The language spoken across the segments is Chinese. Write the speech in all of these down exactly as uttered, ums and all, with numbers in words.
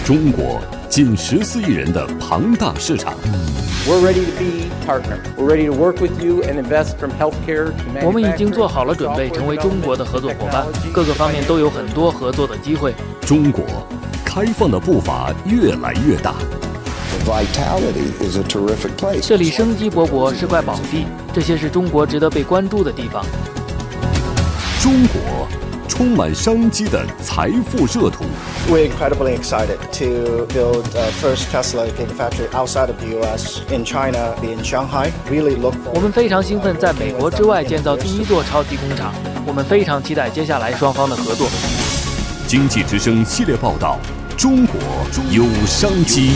中国近十四亿人的庞大市场。 We're ready to be partner. We're ready to work with you and invest from healthcare to manufacturing. 我们已经做好了准备，成为中国的合作伙伴，各个方面都有很多合作的机会。 中国开放的步伐越来越大。 这里生机勃勃，是块宝地，这些是中国值得被关注的地方。 中国充满商机的财富热土。 We're incredibly excited to build the first Tesla Gigafactory outside of the U S in China, in Shanghai. Really look forward. 我们非常兴奋在美国之外建造第一座超级工厂，我们非常期待接下来双方的合作。 经济之声系列报道：中国有商机。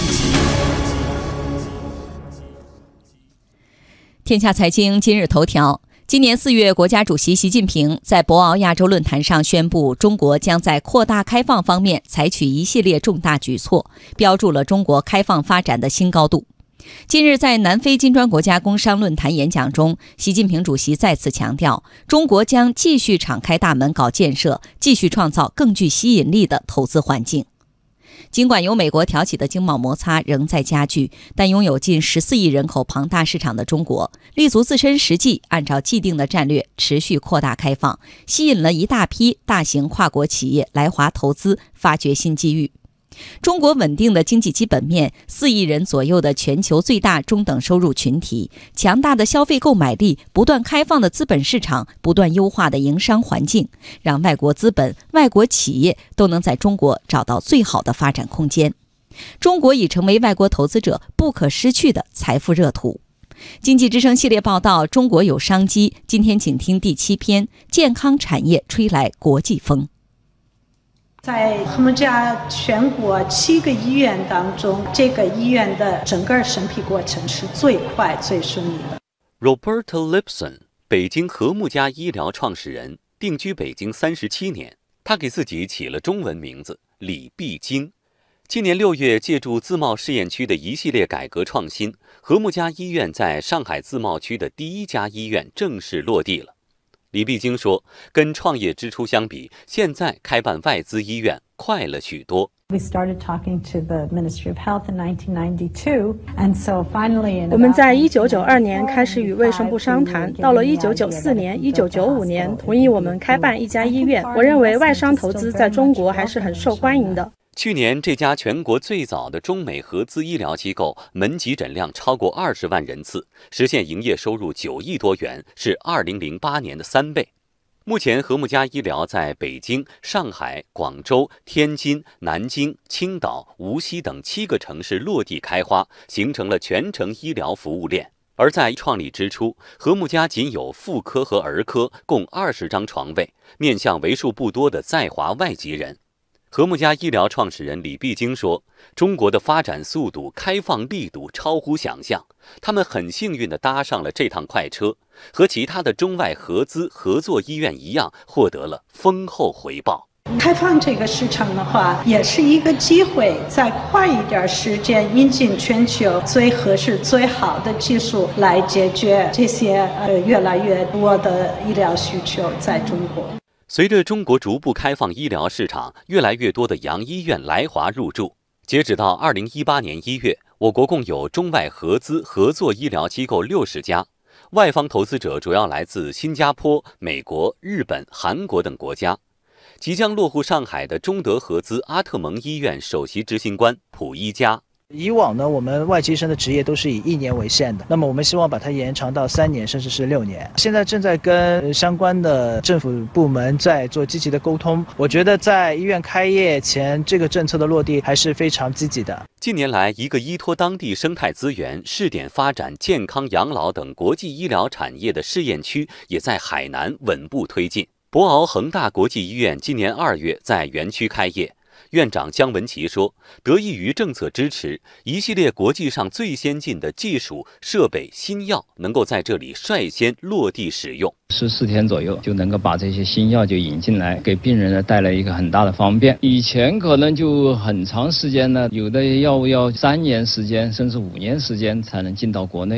天下财经今日头条。今年四月，国家主席习近平在博鳌亚洲论坛上宣布，中国将在扩大开放方面采取一系列重大举措，标注了中国开放发展的新高度。近日，在南非金砖国家工商论坛演讲中，习近平主席再次强调，中国将继续敞开大门搞建设，继续创造更具吸引力的投资环境。尽管由美国挑起的经贸摩擦仍在加剧，但拥有近十四亿人口庞大市场的中国，立足自身实际，按照既定的战略持续扩大开放，吸引了一大批大型跨国企业来华投资，发掘新机遇。中国稳定的经济基本面，四亿人左右的全球最大中等收入群体，强大的消费购买力，不断开放的资本市场，不断优化的营商环境，让外国资本、外国企业都能在中国找到最好的发展空间。中国已成为外国投资者不可失去的财富热土。经济之声系列报道：中国有商机。今天请听第七篇：健康产业吹来国际风。 在和睦家全国七个医院当中，这个医院的整个审批过程是最快最顺利的。 Roberta Lipson， 北京和睦家医疗创始人，定居北京三十七年。他给自己起了中文名字李必经。今年六月，借助自贸试验区的一系列改革创新，和睦家医院在上海自贸区的第一家医院正式落地了。李必经说，跟创业之初相比，现在开办外资医院快了许多。 We started talking to the Ministry of Health in nineteen ninety-two, and so finally, 我们在一九九二年开始与卫生部商谈，到了一九九四年、一九九五年，同意我们开办一家医院。我认为外商投资在中国还是很受欢迎的。 去年，这家全国最早的中美合资医疗机构门急诊量超过二十万人次，实现营业收入九亿多元，是二零零八年的三倍。目前，和睦家医疗在北京、上海、广州、天津、南京、青岛、无锡等七个城市落地开花，形成了全程医疗服务链。而在创立之初，和睦家仅有妇科和儿科共二十张床位，面向为数不多的在华外籍人。和睦家医疗创始人李必经说，中国的发展速度、开放力度超乎想象，他们很幸运地搭上了这趟快车，和其他的中外合资合作医院一样，获得了丰厚回报。 开放这个市场的话，也是一个机会，再快一点时间引进全球最合适、最好的技术，来解决这些呃越来越多的医疗需求在中国。 随着中国逐步开放医疗市场，越来越多的洋医院来华入驻。截止到二零一八年一月，我国共有中外合资合作医疗机构六十家，外方投资者主要来自新加坡、美国、日本、韩国等国家。即将落户上海的中德合资阿特蒙医院首席执行官卜一家。 以往呢，我们外籍医生的职业都是以一年为限的，那么我们希望把它延长到三年，甚至是六年。现在正在跟相关的政府部门在做积极的沟通。我觉得在医院开业前，这个政策的落地还是非常积极的。 近年来，一个依托当地生态资源，试点发展健康养老等国际医疗产业的试验区，也在海南稳步推进。博鳌恒大国际医院今年二月在园区开业。院长姜文琪说，得益于政策支持，一系列国际上最先进的技术、设备、新药能够在这里率先落地使用。 十四天左右就能够把这些新药就引进来，给病人呢带来一个很大的方便。以前可能就很长时间呢，有的药物要三年时间甚至五年时间才能进到国内。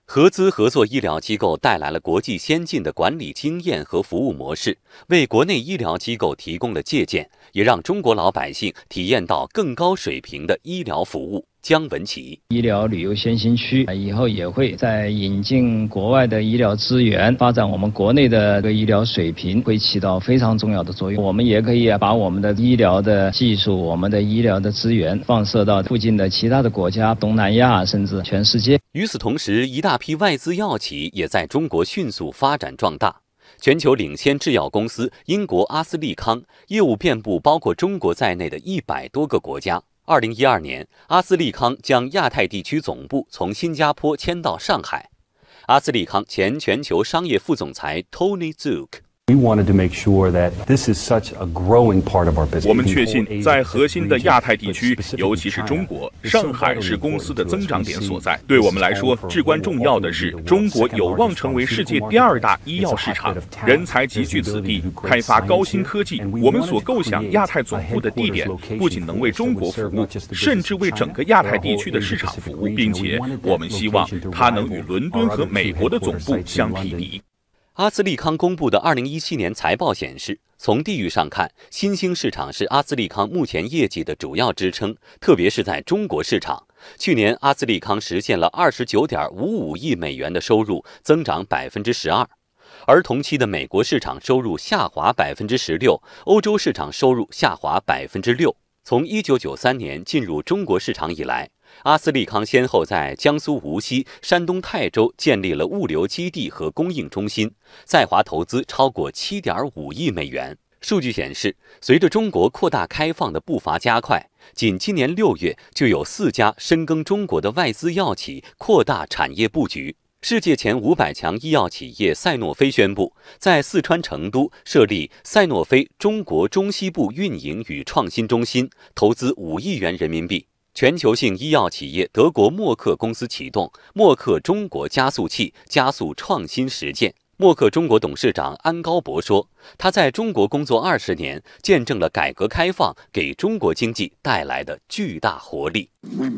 合资合作医疗机构带来了国际先进的管理经验和服务模式，为国内医疗机构提供了借鉴，也让中国老百姓体验到更高水平的医疗服务。姜文琪， 医疗旅游先行区以后也会在引进国外的医疗资源，发展我们国内的这个医疗水平，会起到非常重要的作用。我们也可以把我们的医疗的技术、我们的医疗的资源放射到附近的其他的国家，东南亚甚至全世界。 与此同时，一大批外资药企也在中国迅速发展壮大。全球领先制药公司英国阿斯利康业务遍布包括中国在内的一百多个国家。二零一二年，阿斯利康将亚太地区总部从新加坡迁到上海。阿斯利康前全球商业副总裁 Tony Zook。We wanted to make sure that this is such a growing part of our business. 我们确信，在核心的亚太地区，尤其是中国，上海是公司的增长点所在。对我们来说，至关重要的是，中国有望成为世界第二大医药市场，人才集聚此地，开发高新科技。我们所构想亚太总部的地点，不仅能为中国服务，甚至为整个亚太地区的市场服务，并且我们希望它能与伦敦和美国的总部相匹敌。 阿斯利康公布的二零一七年财报显示，从地域上看，新兴市场是阿斯利康目前业绩的主要支撑，特别是在中国市场。去年，阿斯利康实现了二十九点五五亿美元的收入，增长百分之十二，而同期的美国市场收入下滑百分之十六，欧洲市场收入下滑百分之六。从一九九三年进入中国市场以来，阿斯利康先后在江苏无锡、山东泰州建立了物流基地和供应中心，在华投资超过 七点五亿美元。数据显示，随着中国扩大开放的步伐加快，仅今年六月就有四家深耕中国的外资药企扩大产业布局。世界前五百强医药企业赛诺菲宣布，在四川成都设立赛诺菲中国中西部运营与创新中心，投资五亿元人民币。全球性医药企业德国默克公司启动默克中国加速器，加速创新实践。默克中国董事长安高博说，他在中国工作二十年，见证了改革开放给中国经济带来的巨大活力。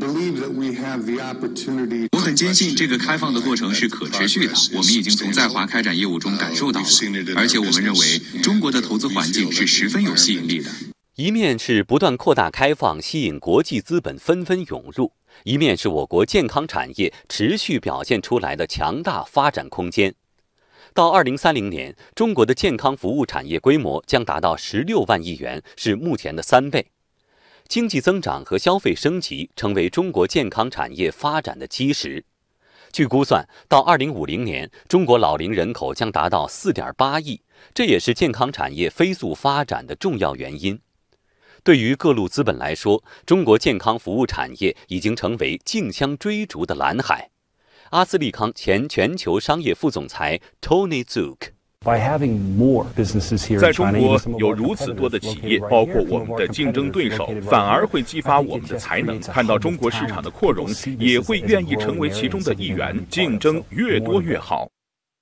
我很坚信这个开放的过程是可持续的，我们已经从在华开展业务中感受到了，而且我们认为中国的投资环境是十分有吸引力的。 一面是不断扩大开放，吸引国际资本纷纷涌入，一面是我国健康产业持续表现出来的强大发展空间。到二零三零年，中国的健康服务产业规模将达到十六万亿元，是目前的三倍。经济增长和消费升级成为中国健康产业发展的基石。据估算，到二零五零年，中国老龄人口将达到 四点八亿，这也是健康产业飞速发展的重要原因。对于各路资本来说，中国健康服务产业已经成为竞相追逐的蓝海。阿斯利康前全球商业副总裁 Tony Zook。 在中国有如此多的企业，包括我们的竞争对手，反而会激发我们的才能。看到中国市场的扩容，也会愿意成为其中的一员。竞争越多越好。